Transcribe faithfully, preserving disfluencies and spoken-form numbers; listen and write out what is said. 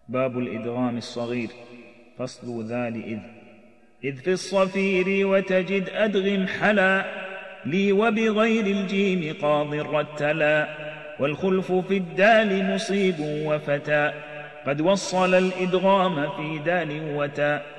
باب الإدغام الصغير. فصل ذا لإذ. إذ في الصفير وتجد أدغم حلا لي وبغير الجيم قاض رتلا والخلف في الدال مصيب وفتى قد وصل الإدغام في دال وتاء